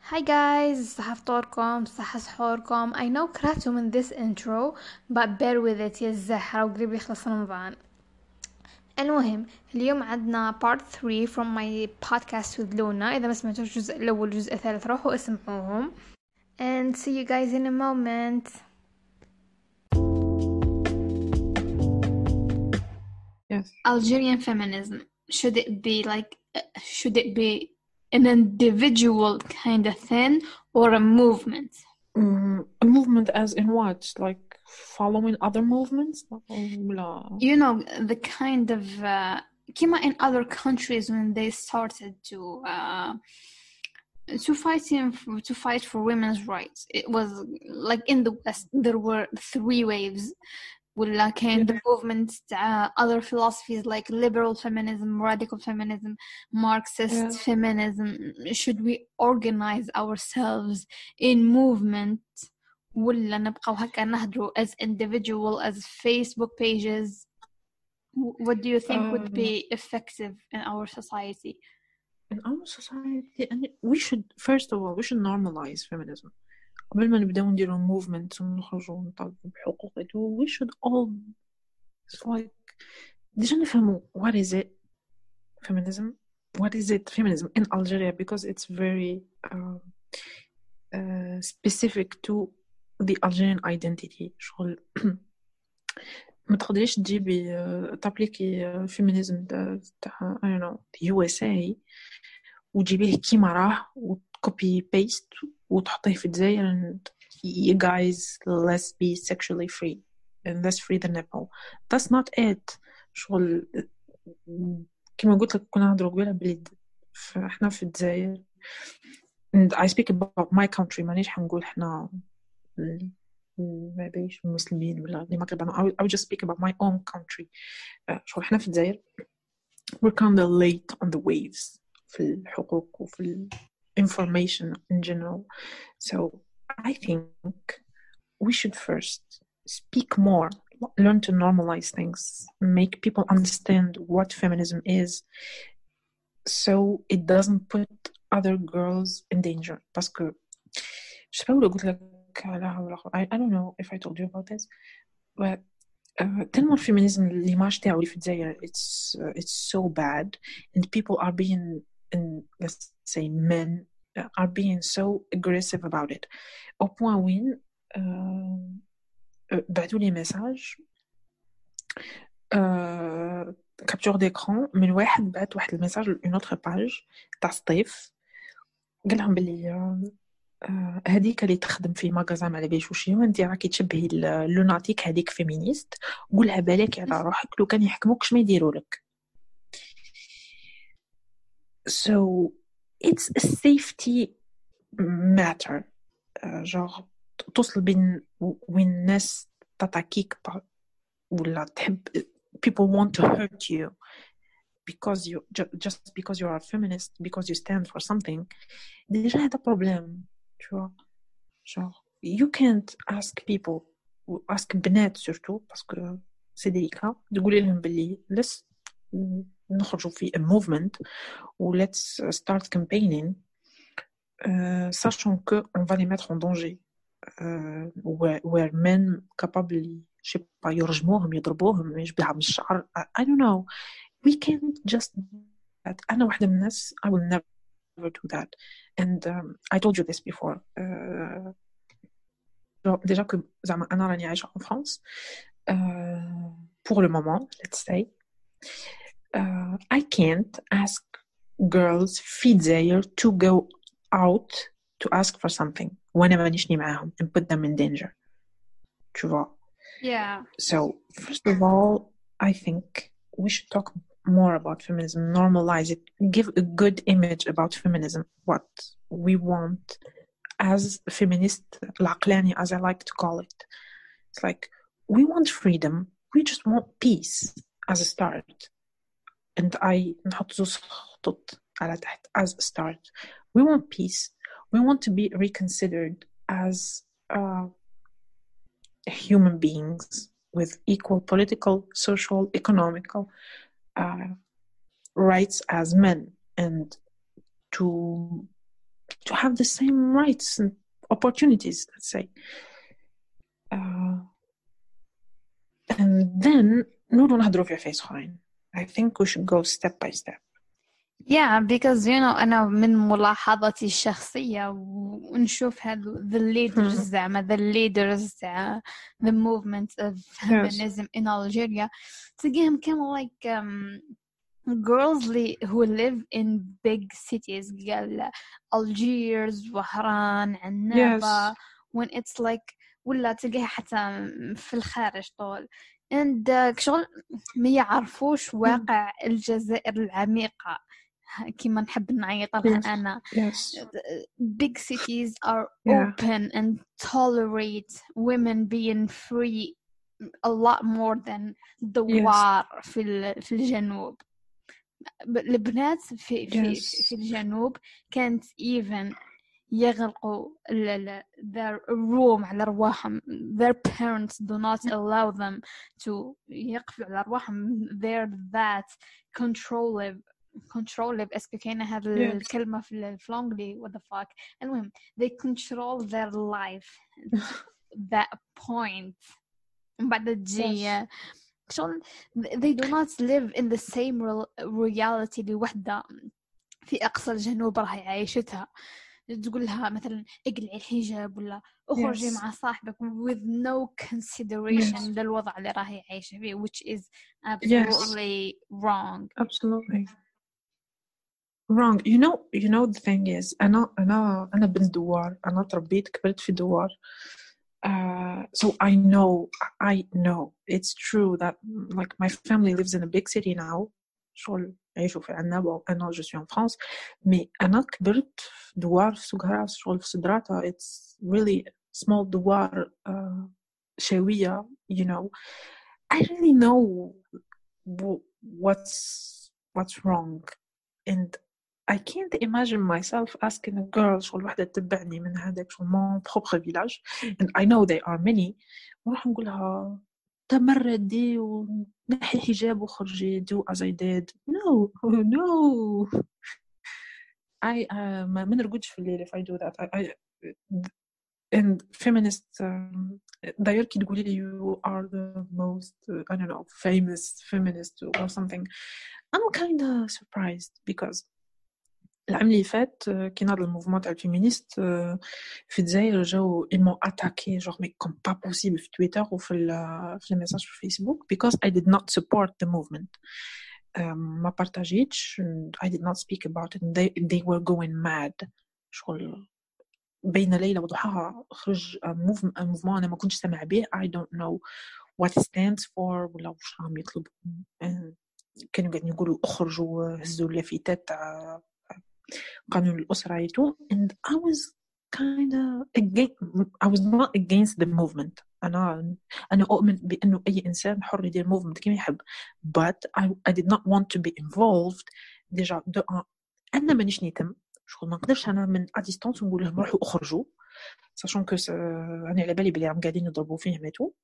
Hi guys, صحفتوركم صح سحوركم. I know كرهتوا من this intro but bear with it يا الزهرة وقريب يخلص رمضان. المهم اليوم عندنا part 3 from my podcast with Luna. إذا ما سمعتوش الجزء الأول والجزء الثالث روحوا اسمعوهم and see you guys in a moment. Yes. Algerian feminism, should it be an individual kind of thing or a movement? A movement as in what? Like following other movements? لا. You know, the kind of كما in other countries when they started to fight for women's rights. It was like in the West there were three waves. ولا كان the movement other philosophies like liberal feminism, radical feminism, Marxist feminism. Should we organize ourselves in movement ولا نبقى هكا نهضروا as individual as Facebook pages? What do you think would be effective in our society? In our society, and we should first of all normalize feminism. قبل ما نبداو نديرو movement ونخرجوا ونطالبوا بحقوق we should all like ديجا نفهموا what is it feminism in Algeria, because it's very specific to the Algerian identity. شغل ما تقدريش تجيبي تابليكي فيمينيزم تاع I don't know the USA وتجيبيه كيما راه وتكوبي بيست وتحطيه في الجزائر and you guys let's be sexually free and let's free the nipple. That's not it. شغل كما قلت لك كنا نهضروا قبيله بلي احنا في الجزائر and I speak about my country. مانيش حنقول احنا ما بيش مسلمين ولا المغرب. I would just speak about my own country. شغل احنا في الجزائر we're kind of late on the waves في الحقوق وفي information in general. So I think we should first speak more, learn to normalize things, make people understand what feminism is, so it doesn't put other girls in danger. Parce que je sais pas où le goût I don't know if I told you about this, but تلمو الفيمينيزم l'image تاعو اللي في الجزائر it's so bad, and people are being, and let's say men are being so aggressive about it au point وين بعثوا لي ميساج كابتور ديكران من واحد بعث واحد الميساج لون اوتر باج تاع سطيف قال لهم بلي هذيك اللي تخدم في ماغازان على باليش وشي انت راكي تشبهي اللوناتيك هذيك فيمينيست قولها بالك على روحك لو كان يحكموكش ما يديروا لك. So it's a safety matter. genre توصل بين وين الناس تتاكيك ولا تحب people want to hurt you because you just because you are a feminist, because you stand for something. déjà هذا problem, tu vois. genre you can't ask people, ask بنات surtout parce que c'est délicat, تقولي لهم باللي let's نخرجوا في a movement ou let's start campaigning sachant que on va les mettre en danger. where men capable je sais pas يرجموهم يضربوهم يجبدها من الشعر. I don't know, we can't just that. أنا واحدة من الناس I will never do that, and I told you this before. déjà que زعما أنا راني عايشة en France pour le moment, let's say. I can't ask girls في الجزائر to go out to ask for something وانا مانيشني معاهم and put them in danger, tu vois. Yeah. So first of all I think we should talk more about feminism, normalize it, give a good image about feminism, what we want as feminist العقلاني as I like to call it. It's like we want freedom, we just want peace as a start, and I نحط زوز خطوط على تحت as a start. We want peace, we want to be reconsidered as human beings with equal political, social, economical rights as men, and to to have the same rights and opportunities, let's say. And then نقدروا نهضروا في عفايس اخرين. I think we should go step by step. Yeah, because أنا من ملاحظتي الشخصية ونشوف هذو the leaders زعما the leaders the movement of feminism in Algeria تلاقيهم كانوا like girls who live in big cities قال Algiers وهران عنابة when it's like ولا تلقاها حتى في الخارج طول and شغل ما يعرفوش واقع الجزائر العميقة كما نحب نعيط لها أنا. Big cities are open and tolerate women being free a lot more than دوار في الجنوب. البنات في الجنوب كانت even يغلقوا their room على رواحهم. Their parents do not allow them to يقفلوا على رواحهم. They're that controlling اسكو كاينه هذه الكلمه في الانجلي what the fuck. المهم they control their life that point. بعد تجي they do not live in the same reality اللي وحده في اقصى الجنوب راهي عايشتها. تقول لها مثلا اقلعي الحجاب ولا اخرجي مع صاحبك with no consideration للوضع اللي راهي عايشه فيه which is absolutely wrong. Absolutely wrong. You know the thing is أنا بنت دوار. أنا تربيت كبرت في دوار. So I know it's true that like my family lives in a big city now. شغل يعيشوا في عنابة. أنا je suis en France. mais أنا كبرت في دوار في سوق هراس شغل في صدراتها. It's really small دوار شاوية. You know, I really know what's wrong, and I can't imagine myself asking a girl شغل واحدة تتبعني من هذاك شغل mon propre village, and I know they are many, ونروح نقول لها تمردي ونحي حجاب وخرجي do as I did. No I ما نرقدش في الليل if I do that. I and feminist داير كي تقولي لي you are the most I don't know famous feminist or something, I'm kind of surprised because العام اللي فات كي نهضر الموفمون تاع الفيمينيست في الجزائر جاو إيمون أتاكي جوغ مي كوم با بوسيبل في تويتر وفي الميساج في الفيسبوك because I did not support the movement. ما بارتاجيتش. I did not speak about it. They were going mad. شغل بين ليلة وضحاها خرج موفمون أنا ما كنتش سامع به. I don't know what it stands for ولا وش راهم يطلبوا. كانوا قاعدين يقولوا اخرجوا هزوا اللافتات تاع قانون الأسرة يتو, and I was kind of I was not against the movement. أنا أؤمن بأنه أي إنسان حر يدير movement كما يحب, but I did not want to be involved. ديجا أنا مانيش نيتم شغل ما نقدرش أنا من أديستانس نقول لهم روحوا أخرجوا sachant que أنا على بالي بلي عم قاعدين يضربوا فيهم يتو.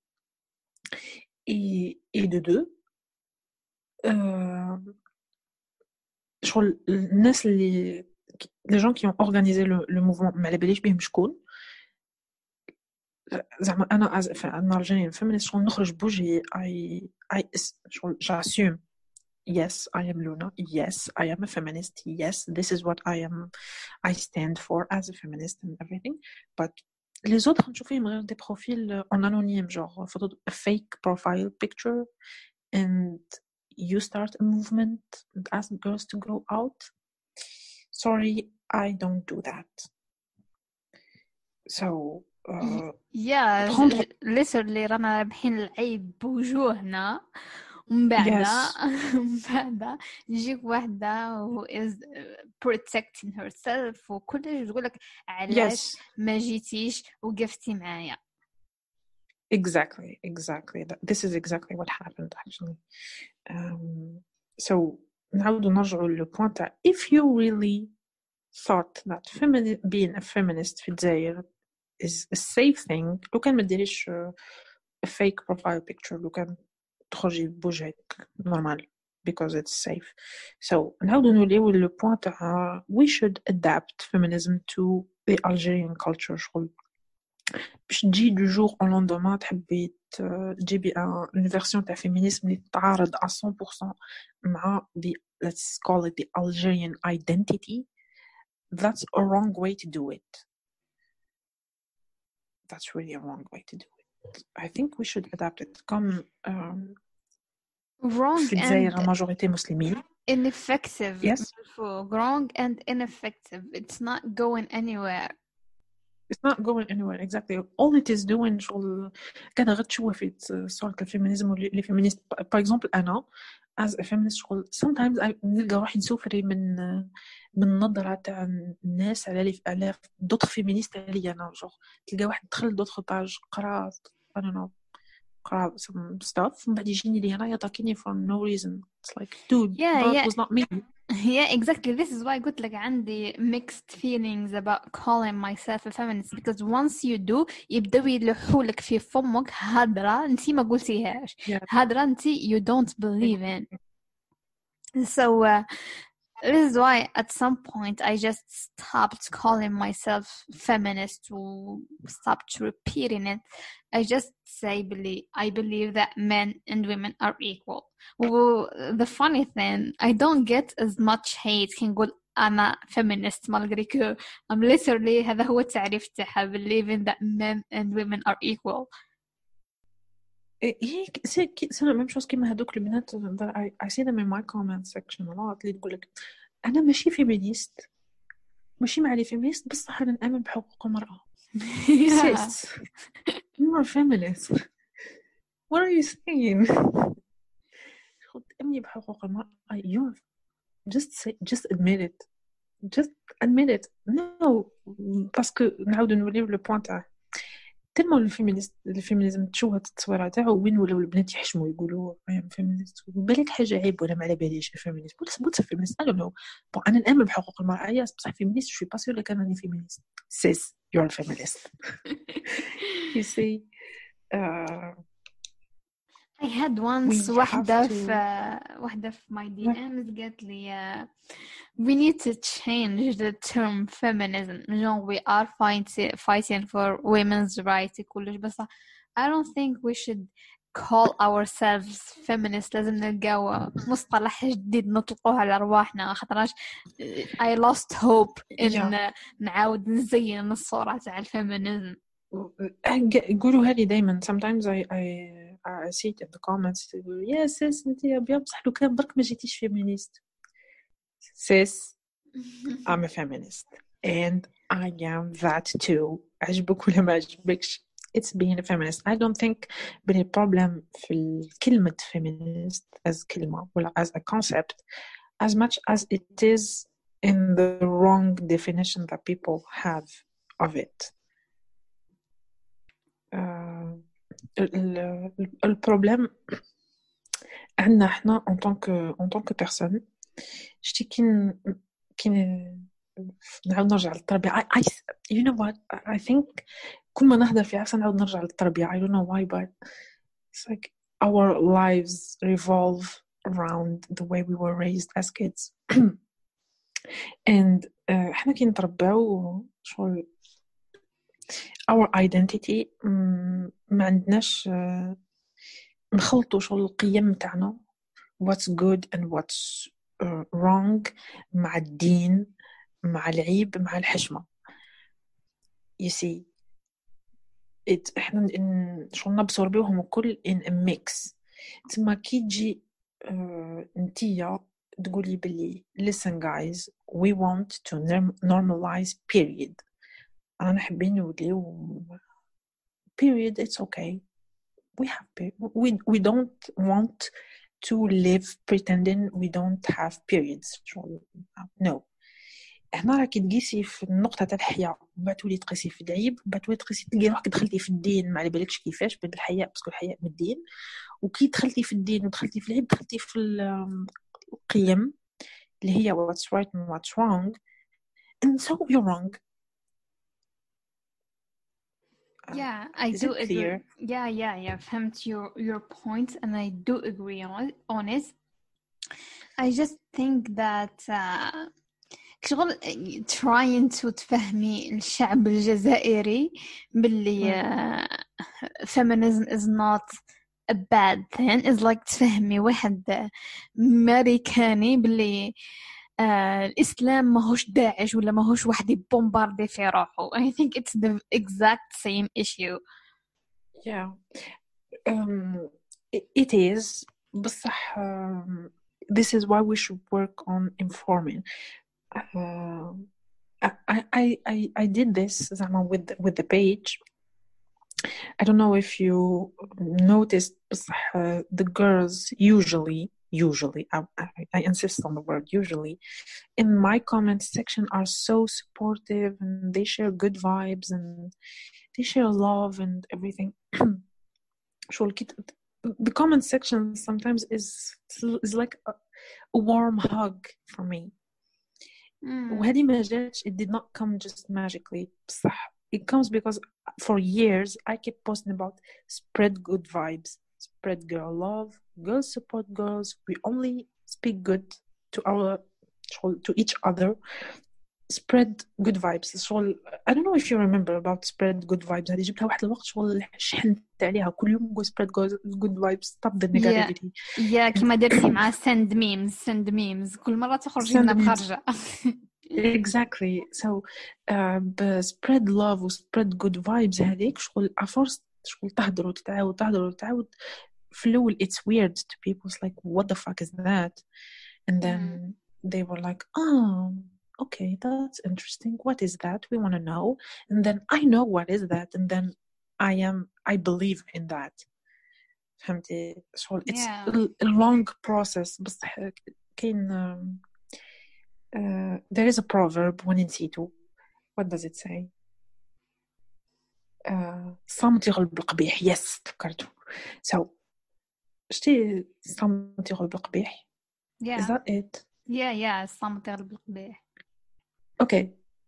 et de deux شغل الناس اللي les gens qui ont organisé le mouvement ما على باليش بهم شكون زعما انا انا Algerian feminist شغل نخرج بوجهي I شغل j'assume yes I am Luna, yes I am a feminist, yes this is what I stand for as a feminist and everything, but les autres نشوف فيهم غير des profils en anonyme genre photo a fake profile picture and you start a movement and ask girls to go out. Sorry, I don't do that. So literally رانا رابحين العيب بوجوهنا ومن بعد يجيك واحدة who is protecting herself وكلش تقولك علاش ما جيتيش وقفتي معايا. Exactly. This is exactly what happened actually. So نعاود نرجعوا للبوان تاع if you really thought that being a feminist في الجزائر is a safe thing, لو كان ما ديريش a fake profile picture, لو كان تخرجي بوجهك normal because it's safe. So نعاودو نوليو لو بوين تاع we should adapt feminism to the Algerian culture. شغل باش تجي du jour au lendemain تحبي تجيبي une version تاع féminisme اللي تتعارض à 100% مع the, let's call it the Algerian identity. That's a wrong way to do it. That's really a wrong way to do it. I think we should adapt it. Comme wrong في الجزائر majorité مسلمين. Ineffective. Yes. Wrong and ineffective. It's not going anywhere. It's not going anywhere, exactly. All it is doing شغل كان غير تشوفي صورة الفيمينيزم واللي فيمينيست. For example أنا as a feminist شغل sometimes I نلقى روحي نسوفري من نظرة تاع الناس على d'autres féministes علي أنا. تلقى واحد دخل d'autres pages قرا I don't know قرا some stuff من بعد يجيني لي أنا يطاكيني for no reason. It's like dude, that was not me. Yeah, exactly. This is why I got like عندي mixed feelings about calling myself a feminist, because once you do يبدأوا يلحولك في فمك هدرة انتي ما قلتيهاش. هدرة انتي you don't believe in. So this is why at some point I just stopped calling myself feminist, or stopped repeating it. I just say I believe that men and women are equal. Well, the funny thing, I don't get as much hate can go أنا feminist malgré que I'm literally هذا هو التعريف تاعها, believing that men and women are equal. c'est la même chose كيما هذوك البنات. I see them in my comment section a lot اللي تقول لك أنا ماشي فيمينيست, ماشي مع لي فيمينيست, بصح أنا نآمن بحقوق المرأة. Sis, you are feminist. What are you saying? تأمني بحقوق المرأة. You just admit it. Just admit it. No, parce que نعاودو نوليو لو بوين تاع تلمو الفيمينيزم تشوه التصويره تاعو وين ولاو البنات يحشموا يقولوا انا فيمينيست. بالك حاجه عيب ولا ما على باليش فيمينيست ولا فيمينيست. I don't know. بون انا نامن بحقوق المراه ياس, بصح فيمينيست شوي با سيور لك انني فيمينيست. Sis, you're a feminist. You see, I had once واحدة في my DMs قالت لي we need to change the term feminism. We are fighting for women's rights كلش, بس I don't think we should call ourselves feminists. لازم نلقاو مصطلح جديد نطلقوه على أرواحنا, خاطرش I lost hope إن نعاود نزين الصورة تاع الفيمينيزم. يقولوا هذه دايما. sometimes I see it in the comments. yes sis انت ابيض بصح لو كان برك ما جيتيش فيمينيست. sis, I'm a feminist and I am that too. عجبك ولا ما عجبكش, it's being a feminist. I don't think بني problem في كلمة feminist as كلمة ولا as a concept as much as it is in the wrong definition that people have of it. البروبليم عندنا احنا en tant que personne. شتي كين نعاود نرجع للتربية. you know what I think كل ما نهضر في عفسة نعاود نرجع للتربية. I don't know why, but it's like our lives revolve around the way we were raised as kids. and احنا كي نترباو شغل our identity ما عندناش نخلطوا شغل القيم تاعنا what's good and what's wrong مع الدين مع العيب مع الحشمة. you see احنا شغل نبصربيوهم الكل in a mix. تسمى كي تجي انتيا تقولي بلي listen guys, we want to normalize period. أنا حابين نوليو period, it's okay, we have period. we don't want to live pretending we don't have periods. no. هنا راكي تقيسي في النقطة تاع الحياة, بعد تولي تقيسي في العيب, بعد تولي تقيسي تلقي روحك دخلتي في الدين ما على بالكش كيفاش بالحياة, باسكو الحياة من الدين. وكي دخلتي في الدين ودخلتي في العيب دخلتي في القيم اللي هي what's right and what's wrong, and so you're wrong. Yeah, I do agree. Yeah. فهمت your point and I do agree on it. I just think that شغل trying to تفهمي الشعب الجزائري باللي feminism is not a bad thing is like تفهمي واحد أمريكاني باللي الإسلام ماهوش داعش ولا ماهوش واحد يبومباردي في روحه. I think it's the exact same issue. Yeah. It is بصح this is why we should work on informing. I did this زعما with the page. I don't know if you noticed بصح the girls usually I insist on the word usually in my comment section are so supportive and they share good vibes and they share love and everything. The comment section sometimes is like a warm hug for me. وهذه ما جاتش, it did not come just magically بصح it comes because for years I kept posting about spread good vibes, spread girl love, girls support girls, we only speak good to each other, spread good vibes. شغل I don't know if you remember about spread good vibes. هذه جبتها واحد الوقت شغل شحنت عليها كل يوم نقول spread good vibes, stop the negativity. Yeah, كما درتي مع send memes كل مرة تخرجي لنا بخرجة. Exactly. So spread love و spread good vibes هذيك شغل أفرست شغل تهدر وتتعاود في الأول it's weird to people. It's like what the fuck is that? And then they were like okay, that's interesting. What is that? We want to know. And then I know what is that. And then I believe in that. فهمتي؟ شغل it's a long process. بس كاين there is a proverb when نسيتو. What does it say? صمت يغلب القبيح. Yes, فكرتو. So شتي صمت يغلب القبيح? Yeah. Is that it? Yeah, صمت يغلب القبيح. Okay.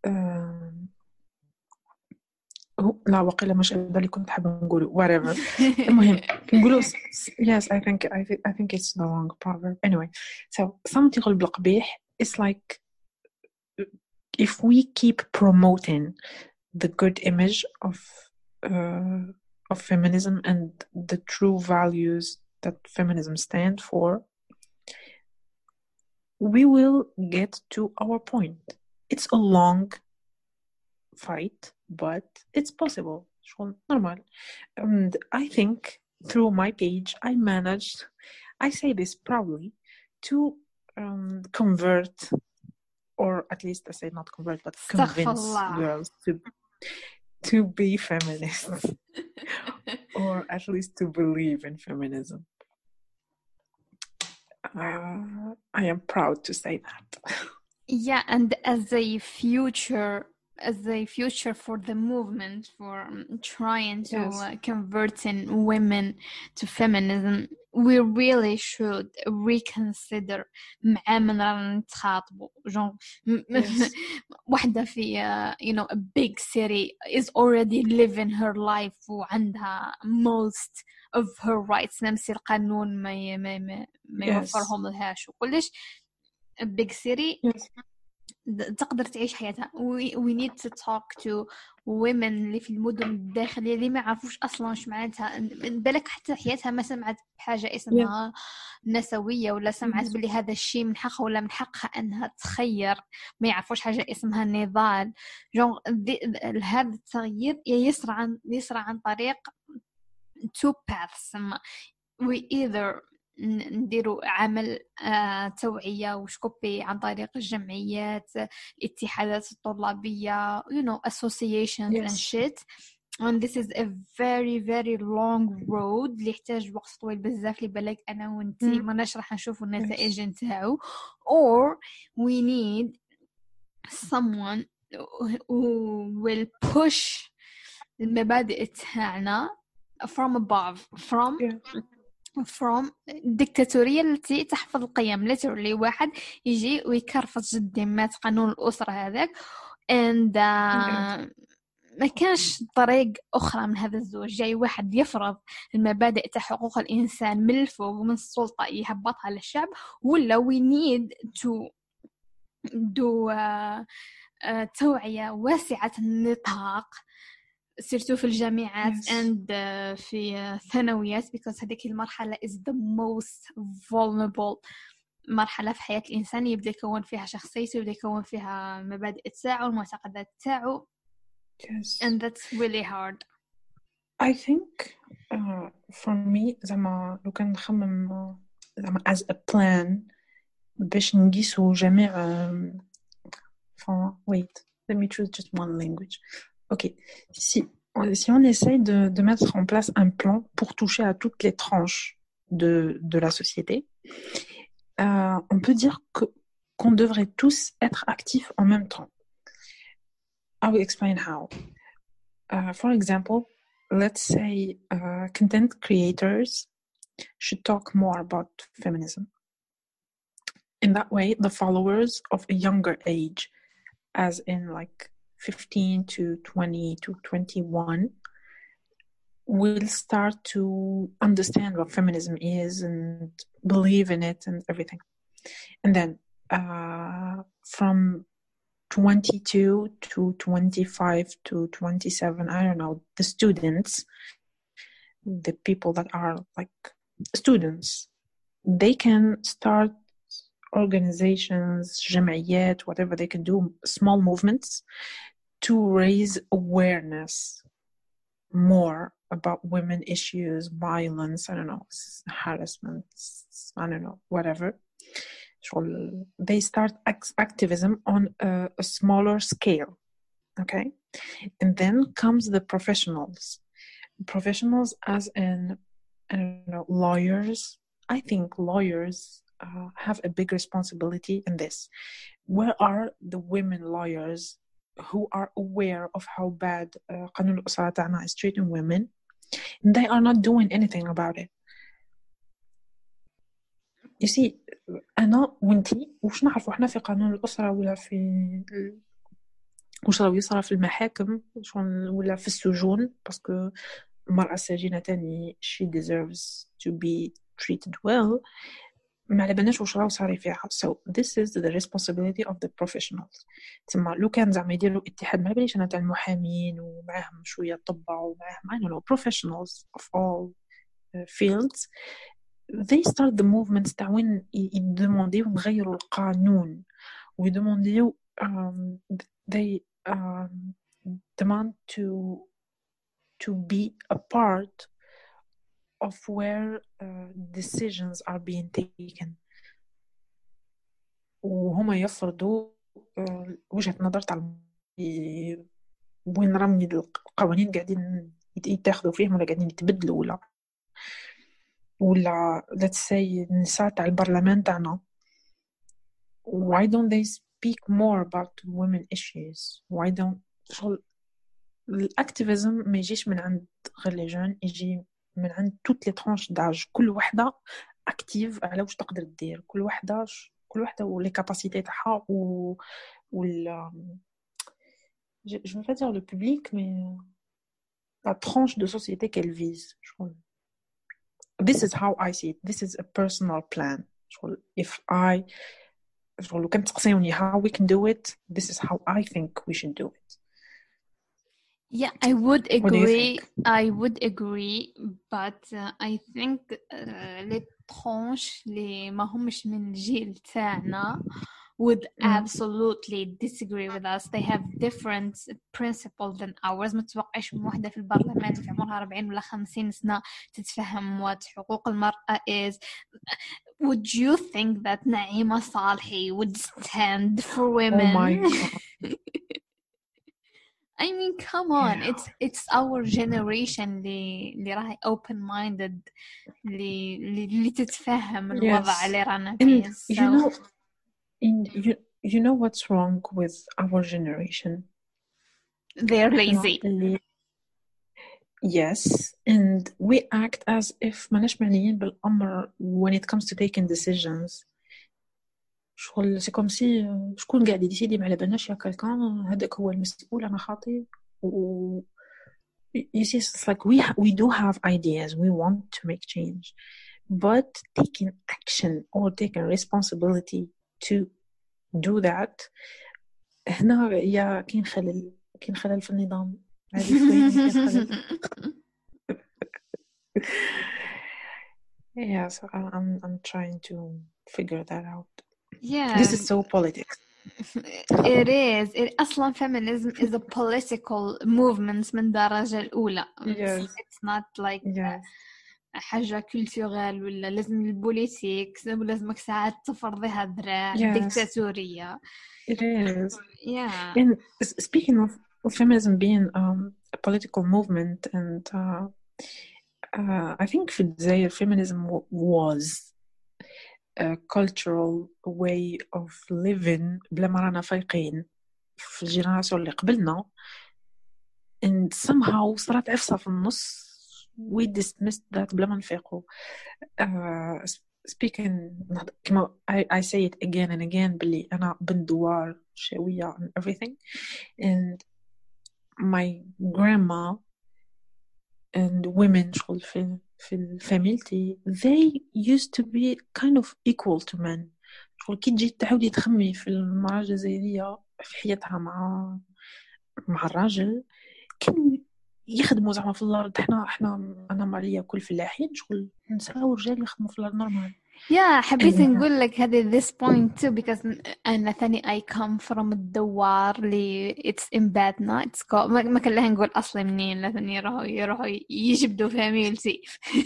لا وقيلا مش اللي كنت حابة نقوله whatever. المهم نقوله yes I think it's the wrong proverb anyway. So صمت يغلب القبيح. It's like if we keep promoting the good image of feminism and the true values that feminism stand for, we will get to our point. It's a long fight, but it's possible. Normal. And I think through my page, I managed, I say this proudly, to convert, or at least I say not convert, but convince girls to be feminists, or at least to believe in feminism. I am proud to say that. Yeah, and as a future for the movement for trying to converting women to feminism, we really should reconsider مع من رانا نتخاطبوا واحدة في a big city is already living her life وعندها most of her rights نمسي القانون ما يوفرهم لهاش وكلش big city تقدر تعيش حياتها. we need to talk to women اللي في المدن الداخلية اللي ما يعرفوش أصلاً وش معناتها بالك حتى حياتها ما سمعت بحاجة اسمها نسوية ولا سمعت باللي هذا الشيء من حقها ولا من حقها أنها تخير. ما يعرفوش حاجة اسمها نضال. هذا التغيير يسرع عن طريق two paths. we either نديروا عمل توعية وشكوبي عن طريق الجمعيات الاتحادات الطلابية associations and shit, and this is a very very long road اللي يحتاج وقت طويل بزاف اللي بالك أنا وانتي ما نشرح نشوفوا النتائج نتاعو. or we need someone who will push المبادئ تاعنا from above, from الدكتاتورية التي تحفظ القيم. literally واحد يجي ويكرفص جدي مات قانون الأسرة هذاك and ما كانش طريق أخرى من هذا الزوج، جاي واحد يفرض المبادئ تاع حقوق الإنسان من الفوق ومن السلطة يهبطها للشعب، ولا we need to do توعية واسعة النطاق سيرتو في الجامعات Yes. and في الثانويات because هذيك المرحلة is the most vulnerable مرحلة في حياة الإنسان، يبدأ يكون فيها شخصيته، يبدأ يكون فيها المبادئ تاعو المعتقدات تاعو. Yes. and that's really hard. I think for me زعما لو كان نخمم زعما as a plan باش نقيسو جميع wait, let me choose just one language. Ok, si on essaye de mettre en place un plan pour toucher à toutes les tranches de la société, on peut dire qu'on devrait tous être actifs en même temps. I will explain how. For example, let's say content creators should talk more about feminism. In that way, the followers of a younger age, as in like 15 to 20 to 21, will start to understand what feminism is and believe in it and everything. And then from 22 to 25 to 27, I don't know, the students, the people that are like students, they can start organizations, جمعيات, whatever they can do, small movements to raise awareness more about women issues, violence, I don't know, harassment, I don't know, whatever. They start activism on a smaller scale, okay? And then comes the professionals as in, I don't know, lawyers. I think lawyers have a big responsibility in this. Where are the women lawyers who are aware of how bad قانون الأسرة تاعنا is treating women? They are not doing anything about it. You see, أنا وانتي وش نعرفوا احنا في قانون الأسرة ولا في وش راهو يصرى في المحاكم ولا في السجون، باسكو المرأة السجينة تاني she deserves to be treated well. ما على بالناش واش راهو صاري فيها. So this is the responsibility of the professionals. تسمى لو كان زعما يديروا اتحاد، ما باليش انا تاع المحامين ومعاهم شويه طباء ومعاهم I don't know professionals of all fields, they start the movements تاع وين يدمونديو نغيروا القانون ويدمونديو they demand to be a part of where decisions are being taken. وهما يفرضوا وجهة نظر تاع وين رمي القوانين قاعدين يتاخذوا فيهم ولا قاعدين يتبدلوا ولا let's say النساء تاع البرلمان تاعنا. Why don't they speak more about women issues? Why don't الاكتيفيزم ما يجيش من عند غير لي جون، يجي من عند توت لي ترانش داج، كل وحده اكتيف على واش تقدر دير، كل وحده ولي كاباسيتي تاعها وال je veux pas dire le public mais la tranche de société qu'elle vise. This is how I see it. This is a personal plan. If I لو كنت تقصيوني how we can do it, this is how I think we should do it. Yeah, I would agree. What do you think? I would agree, but I think les tranches اللي ما همش من الجيل تاعنا would absolutely disagree with us. They have different principles than ours. ما تتوقعش من وحدة في البرلمان في عمرها 40 ولا 50 سنة تتفهم what حقوق المرأة is. Would you think that Naima Salhi would stand for women? Oh my God. I mean, come on, yeah. It's our generation اللي راهي open minded اللي تتفهم الوضع اللي رانا فيه. So you know what's wrong with our generation? They're lazy. Yes, and we act as if ماناش معنيين بالأمر when it comes to taking decisions. شغل سي كوم سي شكون قاعد يديسيدي ما على بالناش يا كالكان هذاك هو المسؤول، انا خاطي you see, it's like we do have ideas, we want to make change, but taking action or taking responsibility to do that هنا يا كاين خلل في النظام هذه شوية كاين خلل. Yeah, so I'm trying to figure that out. Yeah, This is so politics. it is. أصلا feminism is a political movement من الدرجة الأولى. Yes. It's not like Yes. حاجة كولتورال ولا لازم البوليتيك ولازمك ساعات تفرضيها الذراع Yes. ديكتاتورية. It is. Yeah. And speaking of feminism being a political movement, and I think في الجزائر feminism was a cultural way of living بلا ما رانا فايقين في الجينيراسيون اللي قبلنا, and somehow صارت عفسة في النص. we dismissed that بلا ما نفيقوا. speaking كما I say it again and again بلي أنا بنت دوار شاوية and everything, and my grandma and women شغل في فاميلتي they used to be kind of equal to men. شغل كي تجي تعاودي تخمي في المرأة الجزائرية في حياتها مع الراجل كانوا يخدموا زعما في الأرض. احنا أنا مالية كل فلاحين شغل نساء ورجال يخدموا في الأرض نورمال. Yeah, حبيت نقول لك هذا this point too because أنا ثاني I come from الدوار اللي it's in Batna. it's called ما كان لها نقول أصلا منين لا ثاني يروحوا يجبدوا فاميلتي.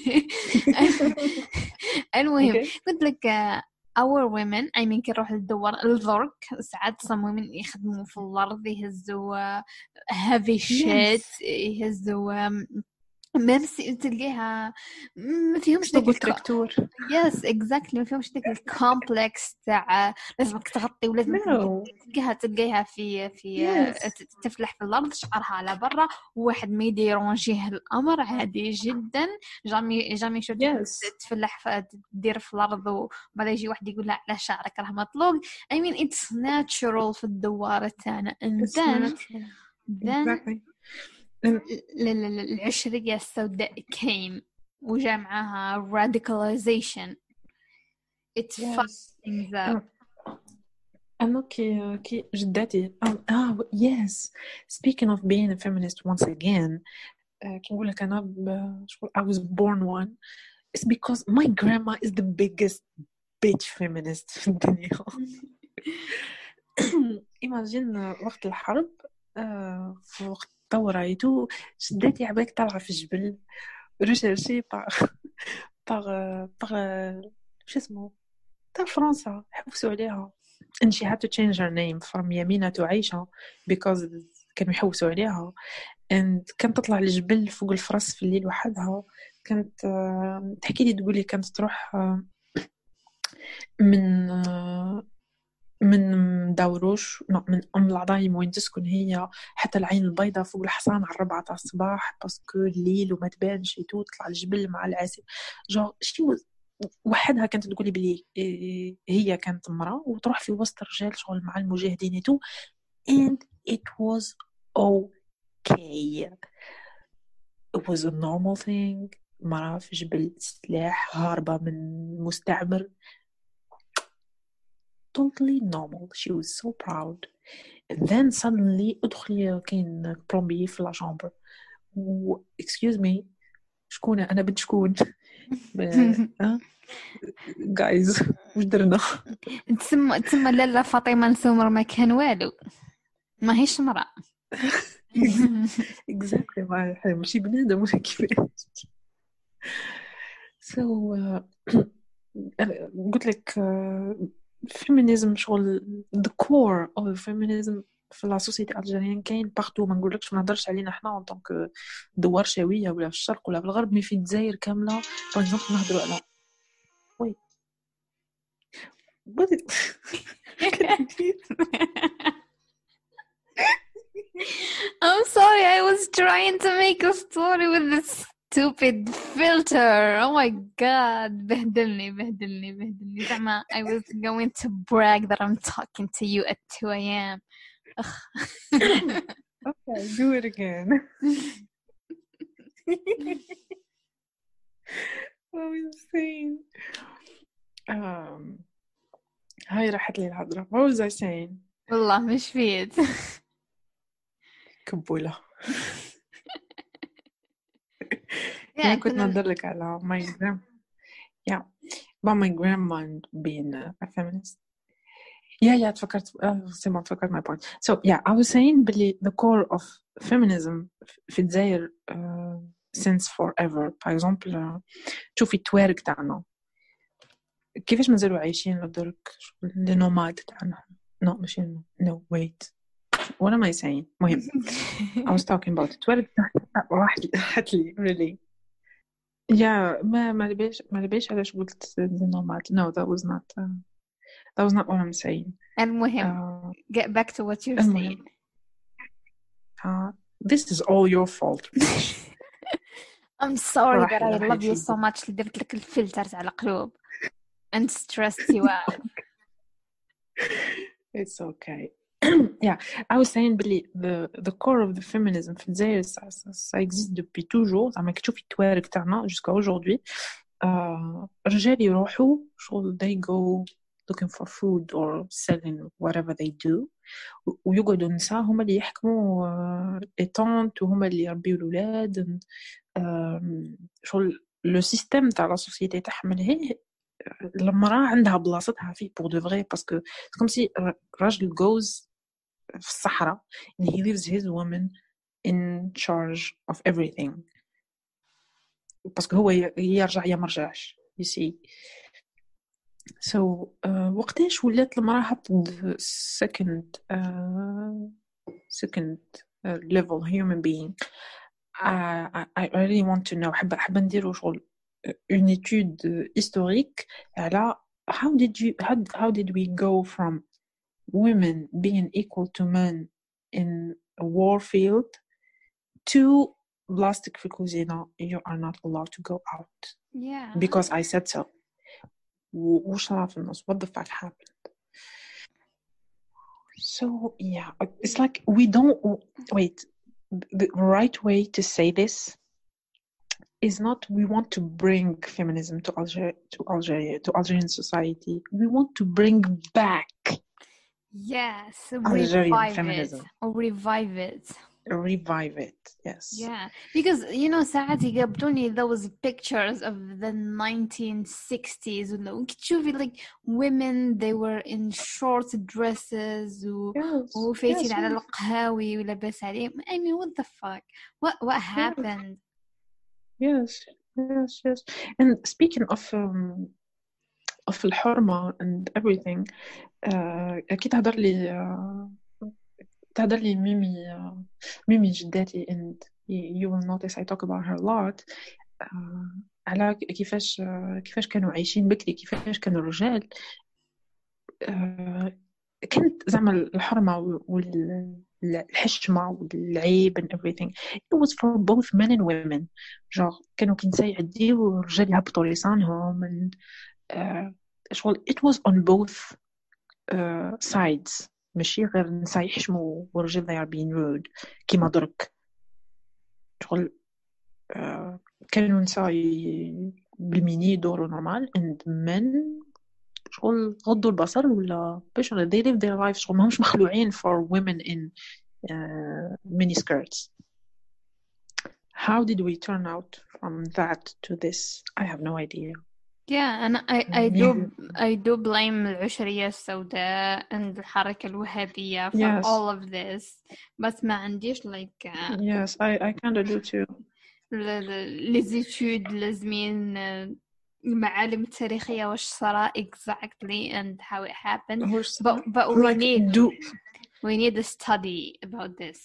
المهم قلت لك our women I mean كي نروح للدوار الضرق ساعات some women يخدموا في الأرض يهزوا heavy shit يهزوا ميمس تلقيها ما فيهمش داك التراكتور. يس اكزاكتلي ما فيهمش داك الكومبلكس تاع لازمك تغطي ولازم تلقيها في تفلح في الارض شعرها على برا وواحد ما يديرونجيه الامر عادي جدا. جامي شو تفلح تدير في الارض وبعد يجي واحد يقول لا على شعرك راه مطلوق. I mean it's natural في الدوار تاعنا and then العشرية السوداء came وجاء معها radicalization. It fucked things up. أنا كي جداتي yes, speaking of being a feminist once again كي نقول لك أنا I was born one. It's because my grandma is the biggest bitch feminist في الدنيا. imagine وقت الحرب في وقت طوريتو شداتي عباك طالعة في الجبل ريشيرشي باغ شو اسمه تاع فرنسا حبسوا عليها and she had to change her name from يمينة to عيشة because كانوا يحوسوا عليها and كانت تطلع الجبل فوق الفرس في الليل وحدها. كانت تحكي لي تقولي كانت تروح من داوروش من العظايم وين تسكن هي حتى العين البيضاء فوق الحصان على 4 تاع الصباح باسكو الليل وما تبانش تطلع الجبل مع العسل جو شي وحدها. كانت تقولي بلي هي كانت امرأة وتروح في وسط رجال شغل مع المجاهدين تو and it was okay. it was a normal thing. مرأة في جبل سلاح هاربة من مستعمر totally normal. She was so proud. And then suddenly ادخلي كاين بلومبي في لا شامبر excuse me شكون انا بنت شكون guys واش درنا تسمى لاله فاطمه نسومر ما كان والو ما هيش مرأة. exactly ما ماشي بنادم ولا كيفاش. so قلت لك feminism شغل the core of feminism في لا سوسيتي الجزائريين كاين بارتو. ما نقولكش ما نهضرش علينا احنا ان طونك دوار شاويه ولا في الشرق ولا في الغرب مي في الجزائر كامله باغ اكزومبل نهضروا على وي I'm sorry I was trying to make a story with this stupid filter. Oh my god بهدلني زعما I was going to brag that I'm talking to you at 2 a.m. Okay, do it again. Oh, insane. هاي راحت لي الهضرة. What was I saying? والله مش فيت. كبولة. يعني كنت ندلك على about my grandma being a feminist. تفكرت سيما تفكرت my point. So I was saying بلي the core of feminism في الجزائر since forever. For example تشوفي التوارق تاعنا كيفاش مازالوا عايشين لدرك النوماد تاعنا. No ماشي no wait what am I saying. مهم I was talking about التوارق راحت لي really. ما لبيش علاش قلت النوماد. No, that was not what I'm saying. المهم get back to what you're saying. This is all your fault. I'm sorry that I love you so much. درت لك الفلتر تاع القلوب and stressed you out. It's okay. I was saying بلي the core of the feminism في الجزائر ça existe depuis toujours. زعما كتشوفي التوارق تاعنا jusqu'à aujourd'hui. الرجال يروحوا شغل they go looking for food or selling whatever they do ويقعدوا النساء هما اللي يحكموا الطونت وهما اللي يربيوا الأولاد. شغل لو سيستم تاع لا سوسيتي تاعهم هي المرأة عندها بلاصتها فيه pour de vrai parce que c'est comme si راجل goes في الصحراء and he leaves his woman in charge of everything parce que هو يرجع يا مرجعش you see. So وقتاش ولات المرأة second level human being. I really want to know. حابة نديرو شغل une étude historique على how did we go from women being equal to men in a war field to plastic في الكوزينة you are not allowed to go out because I said so. وش صار في النص? What the fuck happened? So it's like we don't wait. The right way to say this is not we want to bring feminism to Algeria to Algerian society. We want to bring back Algerian feminism or revive it. Revive it, yes. Because ساعات يقبلوني those pictures of the 1960s وتشوفي like women they were in short dresses وفايتين على القهاوي ولاباس عليهم. I mean what the fuck what happened? Yes. And speaking of الحرمة and everything أكيد تهدر لي ميمي جداتي and you will notice I talk about her a lot على كيفاش كانوا عايشين بكري كيفاش كانوا الرجال كانت زعما الحرمة والحشمة والعيب and everything it was for both men and women. كانوا كنساء يعديو والرجال يهبطوا لسانهم and it was on both sides. ماشي غير النساء يحشموا والرجال they are being rude كيما درك كانوا نساء بالميني يدوروا نورمال and men غضوا البصر ولا باش they live their lives ماهمش مخلوعين for women in mini skirts. How did we turn out from that to this? I have no idea. and I do blame العشرية السوداء and الحركة الوهابية for all of this بس ما عنديش like yes I kind of do too. les études لازمين المعالم التاريخية واش صار exactly and how it happened but we need a study about this.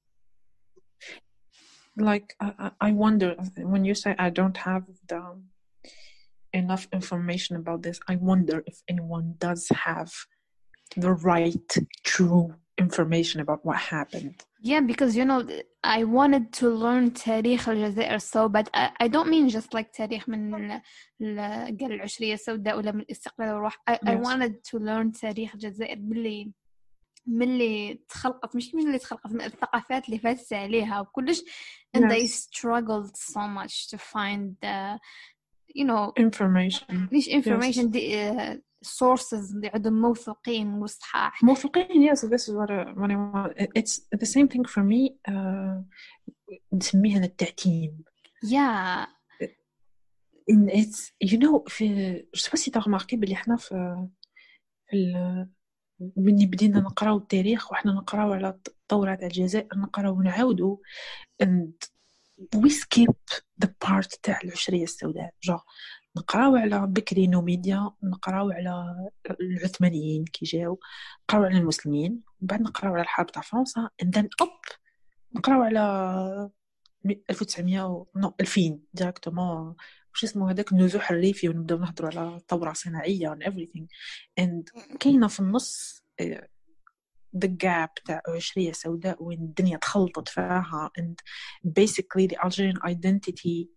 Like I wonder when you say I don't have enough information about this, I wonder if anyone does have the right true information about what happened. Because I wanted to learn تاريخ الجزائر so but I don't mean just like تاريخ من قال العشرية السوداء ولا من الاستقلال والروح. I wanted to learn تاريخ الجزائر باللي ملي تخلقت، مش ملي تخلقت، من الثقافات اللي فاتت عليها وكلش. and they struggled so much to find you know information. ليش information Yes. دي sources اللي عندهم موثوقين وصحاح. موثوقين. Yes, this is what I want. It's the same thing for me. نسميها التعتيم. yeah in it's you know في je sais pas si t'as remarqué بلي احنا في مني بدينا نقراو التاريخ وإحنا نقراو على الثورة تاع الجزائر نقراو ونعاودو and we skip the part تاع العشرية السوداء. جو نقراو على بكري نوميديا، نقراو على العثمانيين كي جاو، نقراو على المسلمين، وبعد نقراو على الحرب تاع فرنسا and then نقراو على 1900 نو 2000 ديريكتومون واش اسمه هذاك النزوح الريفي، ونبداو نهضروا على ثورة صناعية and everything and كاينة في النص the gap تاع عشرية سوداء وين الدنيا تخلطت فيها and basically the Algerian identity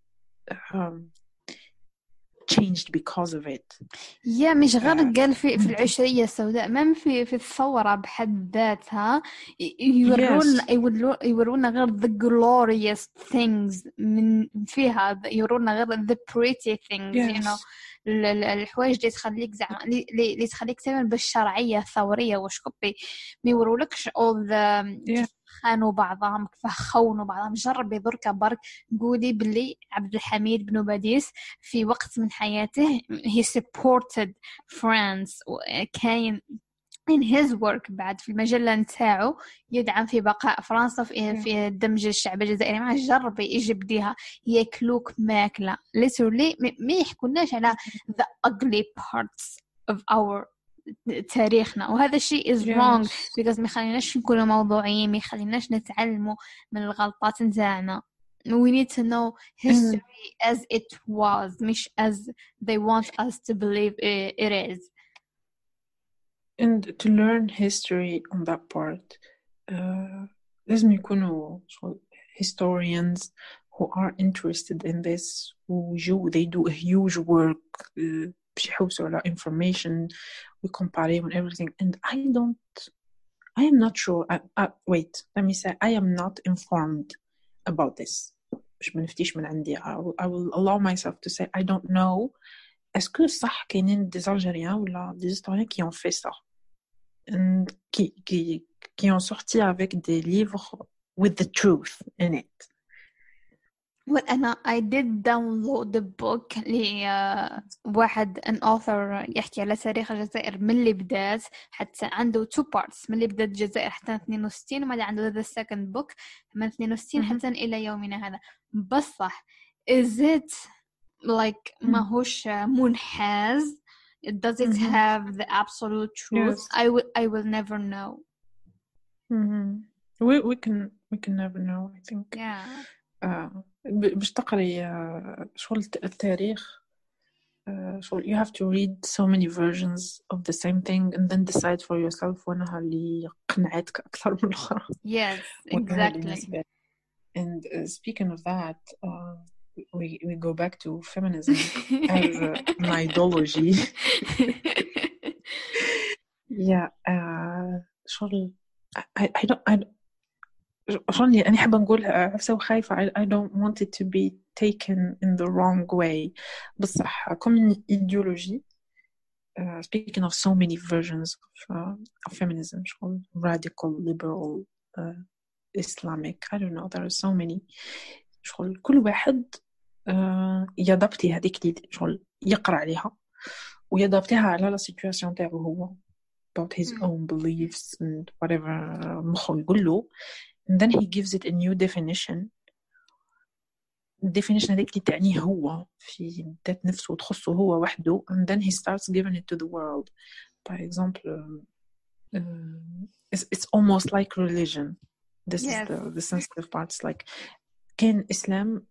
changed because of it. مش غير قال في العشرية السوداء، ما في الثورة بحد ذاتها يورونا غير the glorious things من فيها، يورونا غير the pretty things you know الحوايج اللي تخليك زعما اللي تخليك تعمل بالشرعية الثورية واش كبي ما يورولكش all the خانوا بعضهم كيف خونوا بعضهم. جربي دركا برك قولي باللي عبد الحميد بن باديس في وقت من حياته he supported France وكاين in his work بعد في المجلة نتاعو يدعم في بقاء فرنسا في دمج الشعب الجزائري معه. جربي يجي بديها ياكلوك ماكلة literally ما يحكوناش على the ugly parts of our تاريخنا، وهذا الشيء is wrong because ما يخليناش نكونوا موضوعيين، ما يخليناش نتعلموا من الغلطات نتاعنا. we need to know history as it was مش as they want us to believe it is. And to learn history on that part لازم يكونوا historians who are interested in this they do a huge work باش يحوسوا على information we compare and everything and I am not sure wait let me say I am not informed about this باش ما نفتيش من عندي I will allow myself to say I don't know est-ce que صح كاينين des Algériens ولا des historiens qui ont fait ça and qui ont sorti avec des livres with the truth in it. Well, I did download the book لواحد an author يحكي على تاريخ الجزائر من اللي بدات حتى عنده 2 parts من اللي بدات الجزائر حتى 62 وما عنده the second book من 62 حتى إلى يومنا هذا. بصح is it like ماهوش منحاز does it have the absolute truth? Yes. I will never know. We can never know I think. Yeah. باش تقري شغل التاريخ شغل you have to read so many versions of the same thing and then decide for yourself وانها اللي قنعتك اكثر من الاخرى. Yes, exactly. And speaking of that we go back to feminism as an ideology. Yeah شغل I don't شغل أنا حابة نقول عفسة وخايفة I don't want it to be taken in the wrong way بصح comme ideology speaking of so many versions of feminism شغل radical liberal Islamic I don't know there are so many شغل كل واحد يضبطي هذيك اللي شغل يقرأ عليها ويضبطيها على la situation تاعه هو about his own beliefs and whatever مخه يقول له and then he gives it a new definition. الديفينيشن هذيك اللي تعنيه هو في ذات نفسه وتخصه هو وحده and then he starts giving it to the world. For example it's almost like religion. This is the sensitive part. It's like كان إسلام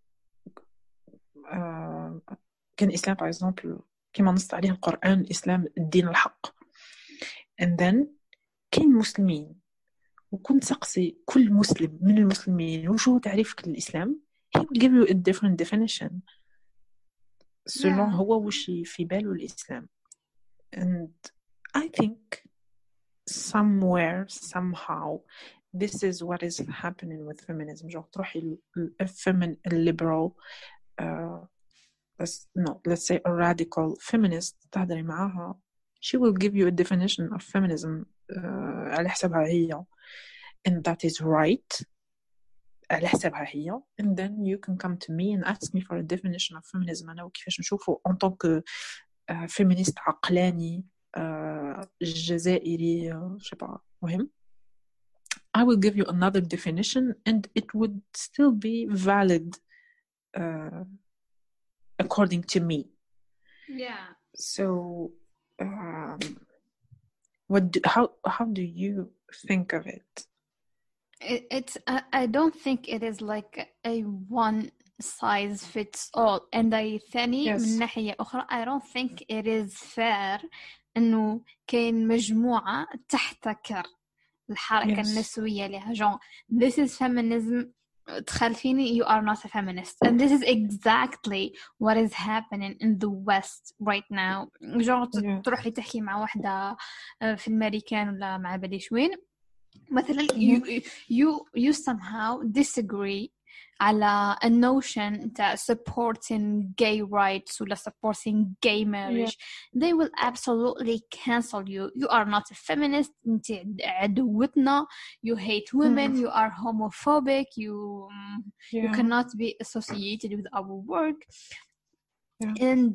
for example كما نص عليه القرآن إسلام الدين الحق and then كان مسلمين وكنت سقسي كل مسلم من المسلمين وشو تعريفك للإسلام he will give you a different definition selon هو وش في باله الإسلام and I think somewhere somehow this is what is happening with feminism. جو تروحي liberal let's say a radical feminist تهضري معاها, she will give you a definition of feminism على حسابها هي, and that is right على حسابها هي, and then you can come to me and ask me for a definition of feminism أنا وكيفاش نشوفه en tant que féministe عقلاني جزائري je sais pas مهم. I will give you another definition and it would still be valid according to me. Yeah. So how do you think of it? It's I don't think it is like a one size fits all, and ثاني Yes. من ناحية أخرى I don't think it is fair إنه كاين مجموعة تحتكر الحركة Yes. النسوية لها جون this is feminism تخالفيني you are not a feminist, and this is exactly what is happening in the West right now. جون Yeah. تروحي تحكي مع واحدة في الأمريكان ولا مع بديش وين مثلا you somehow disagree على a notion that supporting gay rights ولا supporting gay marriage, they will absolutely cancel you. You are not a feminist, انت عدوتنا, you hate women, you are homophobic, you cannot be associated with our work. And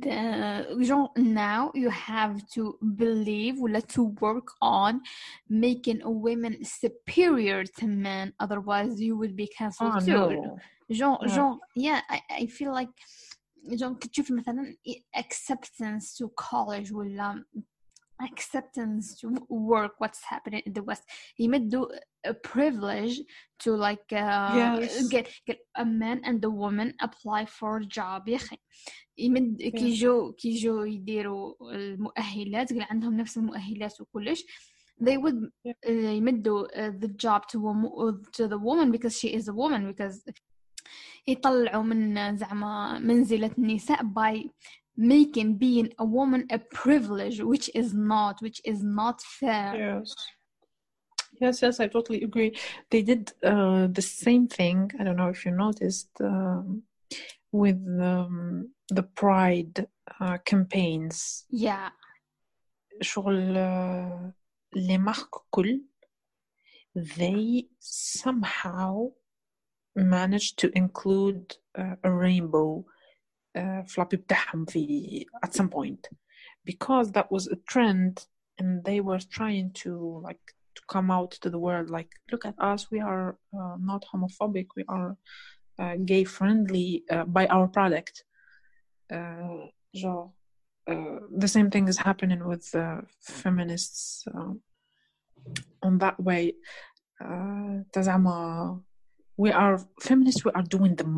now you have to believe or to work on making a woman superior to men, otherwise you will be cancelled too. Yeah, I feel like كتشوف مثلا acceptance to college ولا acceptance to work, what's happening in the West, يمدوا a privilege to like get a man and a woman apply for a job. يا أخي يمد كيجو يديروا المؤهلات قال عندهم نفس المؤهلات وكلش, they would يمدوا the job to the woman because she is a woman, because يطلعوا من زعما منزلة النساء by making being a woman a privilege, which is not fair. Yes, I totally agree. They did the same thing. I don't know if you noticed with the pride campaigns. Yeah. شغل les marques كل they somehow managed to include a rainbow floppy بتاعهم في at some point, because that was a trend and they were trying to come out to the world like, look at us, we are not homophobic, we are gay friendly by our product. The same thing is happening with feminists on that way. We are feminists, we are doing the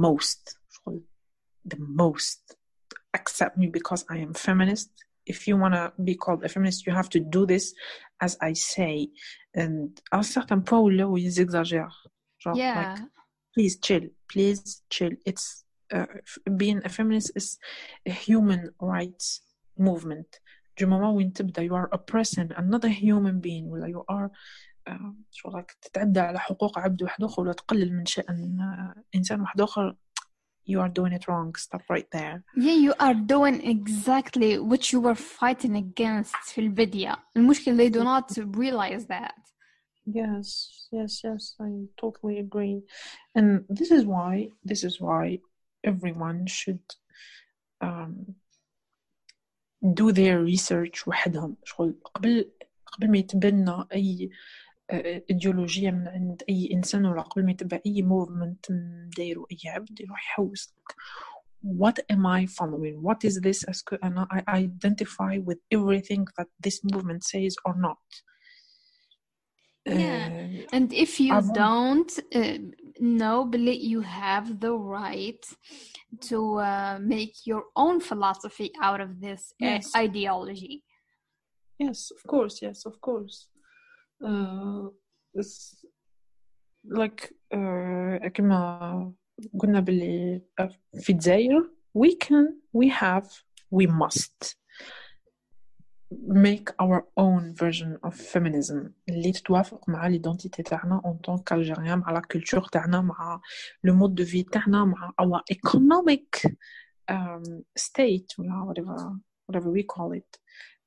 most. Accept me because I am feminist. If you want to be called a feminist, you have to do this as I say. And à un certain point là où ils exagèrent. Like, please chill. It's being a feminist is a human rights movement. Du moment où you are oppressing another human being, ولا you are شو like تتعدى على حقوق عبد واحد آخر ولا تقلل من شأن إنسان واحد آخر, you are doing it wrong. Stop right there. Yeah, you are doing exactly what you were fighting against في البداية. المشكلة they do not realize that. Yes, I totally agree. And this is why everyone should do their research وحدهم. قبل ما يتبنى أي إيديولوجية من عند أي إنسان ولا قبل ما يتبع أي movement دايرو أي عبد يروح يحوس what am I following? What is this? And I identify with everything that this movement says or not. And if you don't know, believe you have the right to make your own philosophy out of this ideology. Yes, of course. It's like كما قلنا باللي في الجزائر we must make our own version of feminism اللي تتوافق مع l'identité تاعنا en tant qu'Algérien مع la culture تاعنا مع le mode de vie تاعنا مع our economic state ولا whatever we call it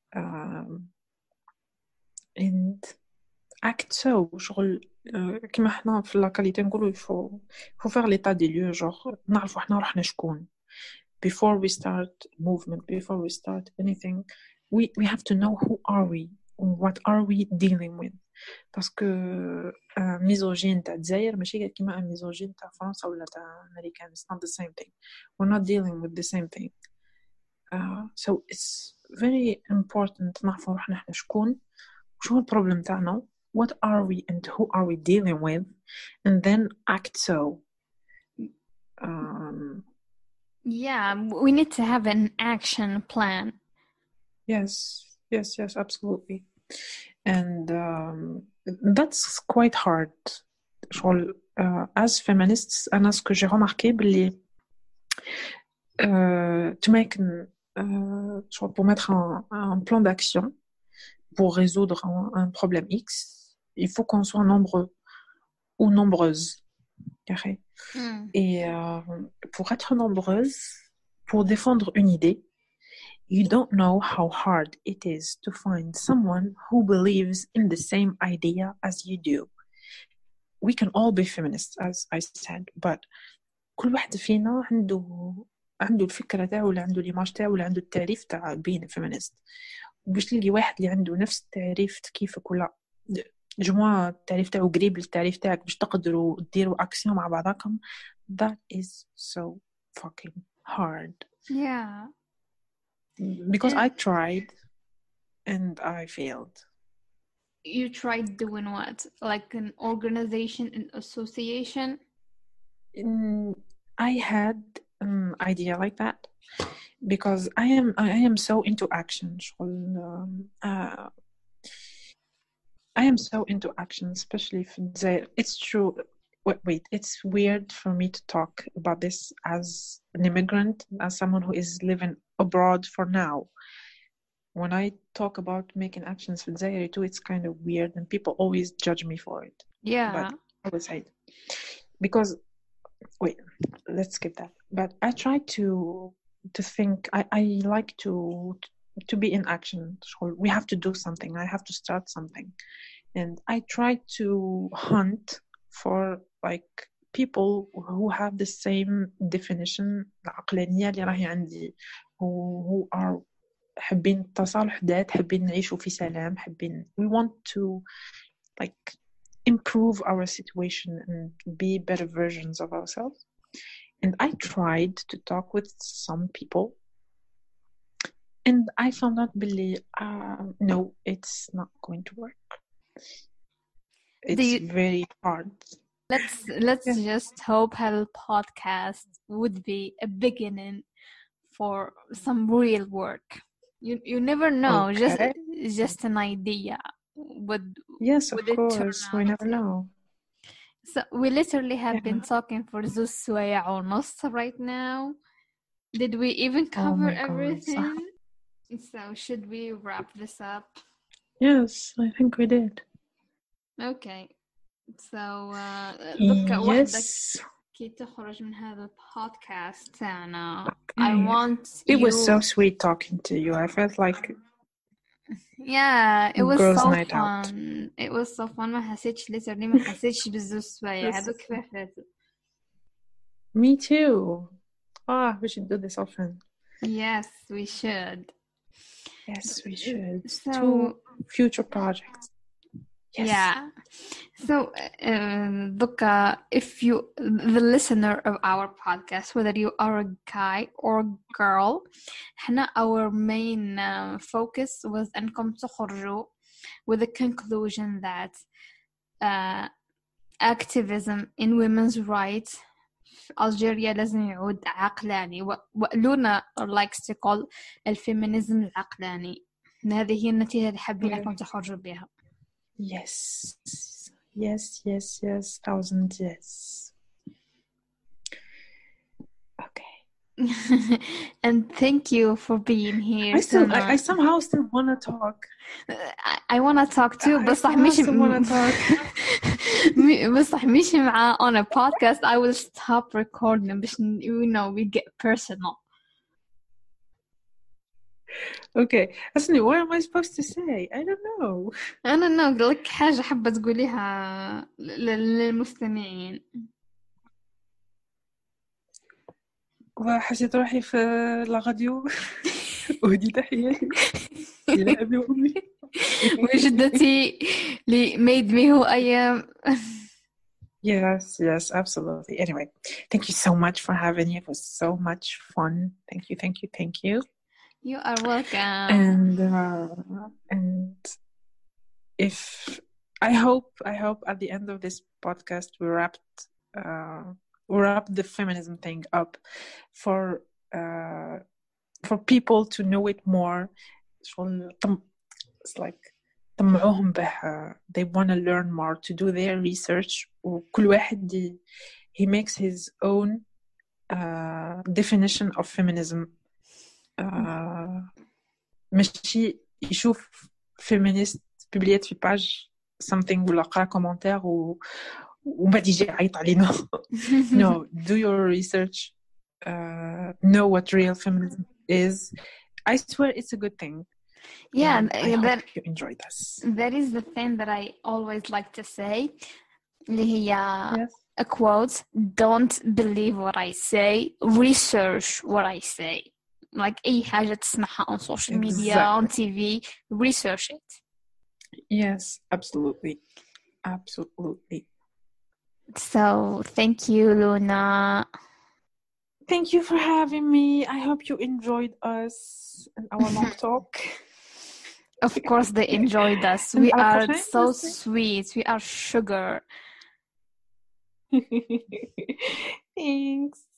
and act so شغل كما احنا في لاكاليتي نقولوا faut faire l'état des lieux genre نعرفوا احنا روحنا شكون before we start movement, before we start anything, we have to know who are we, what are we dealing with. Parce que misogyne تاع الجزائر ماشي كيما misogyne تاع فرنسا ولا تاع أمريكا. It's not the same thing. We're not dealing with the same thing. So it's very important نعرفوا روحنا احنا شكون وشو البروبلم تاعنا, what are we and who are we dealing with, and then act so. Yeah, we need to have an action plan. Yes, absolutely. And that's quite hard. As feminists, أنا ce que j'ai remarqué بلي to make pour mettre un plan d'action pour résoudre un problème X, il faut qu'on soit nombreux ou nombreuses. Et pour être nombreuse, pour défendre une idée, you don't know how hard it is to find someone who believes in the same idea as you do. We can all be feminists, as I said, but كل واحد فينا عنده الفكرة تاعه ولا عنده ليماج تاعه ولا عنده التعريف تاع being a feminist. باش تلقي واحد اللي عنده نفس التعريف كيفك ولا جماعة التعريف تاعه قريب للتعريف تاعك باش تقدروا تديروا أكسيون مع بعضكم. That is so fucking hard. Yeah. Because I tried and I failed. You tried doing what? Like an organization, an association? I had an idea like that because I am so into action. I am so into action, especially if it's true. Wait, it's weird for me to talk about this as an immigrant, as someone who is living abroad for now. When I talk about making actions for Zaire too, it's kind of weird and people always judge me for it. Yeah. But I would say because wait, let's skip that. But I try to think. I like to be in action. So we have to do something. I have to start something, and I try to hunt for like people who have the same definition العقلانية اللي راهي عندي, who are حابين التصالح ذات, حابين نعيشوا في سلام, حابين we want to like improve our situation and be better versions of ourselves. And I tried to talk with some people and I found out Billy, no, it's not going to work. It's very hard. Let's just hope Hell Podcast would be a beginning for some real work. You never know. Okay. Just an idea. Yes, of course. We never know. So we literally have been talking for those سوايع ونص right now. Did we even cover everything? So should we wrap this up? Yes, I think we did. Okay. So yes. كي تخرج من هذا البودكاست تاعنا. I want It was so sweet talking to you. I felt like it was girls' so night fun. out. It was so fun. ما حسيتش بزوج سوايع هذوك كيف فاتوا. Me too. We should do this often. Yes, we should. Yes, we should. So 2 future projects. Yes. Yeah. So, if you, the listener of our podcast, whether you are a guy or girl, our main focus was أنكم تخرجوا with the conclusion that activism in women's rights في ألجيريا لازم يعود عقلاني, وقلونا likes to call الفيمينيزم العقلاني. هذه هي النتيجة اللي حابين أنكم تخرجوا بها. Yes. 1000 yes. Okay. And thank you for being here I tonight. somehow still wanna talk. I wanna talk too, I بس صح somehow مش still wanna talk. بس صح مش مع on a podcast. I will stop recording باش we get personal. Okay, listen, what am I supposed to say? I don't know. أنا لك حاجة حابة تقوليها للمستمعين. وحسيت روحي في الراديو أهدي تحياتي إلى أبي وأمي وجدتي اللي made me who I am. Yes, absolutely. Anyway, thank you so much for having me. It was so much fun. Thank you. You are welcome. And if I hope at the end of this podcast we wrap the feminism thing up for people to know it more. It's like طمعوهم به they want to learn more, to do their research, وكل واحد he makes his own definition of feminism. ماشي يشوف feminist ببليات في باج something ولا قرأ كومنتار وما يجي يعيط علينا. No, do your research, know what real feminism is. I swear it's a good thing. Yeah, I hope you enjoy this. That is the thing that I always like to say. اللي هي Yes. a quote, don't believe what I say, research what I say. Like أي حاجة تسمعها on social media, on TV, research it. Yes, absolutely. So thank you, Luna. Thank you for having me. I hope you enjoyed us and our long talk. Of course they enjoyed us. We are so sweet. We are sugar. Thanks.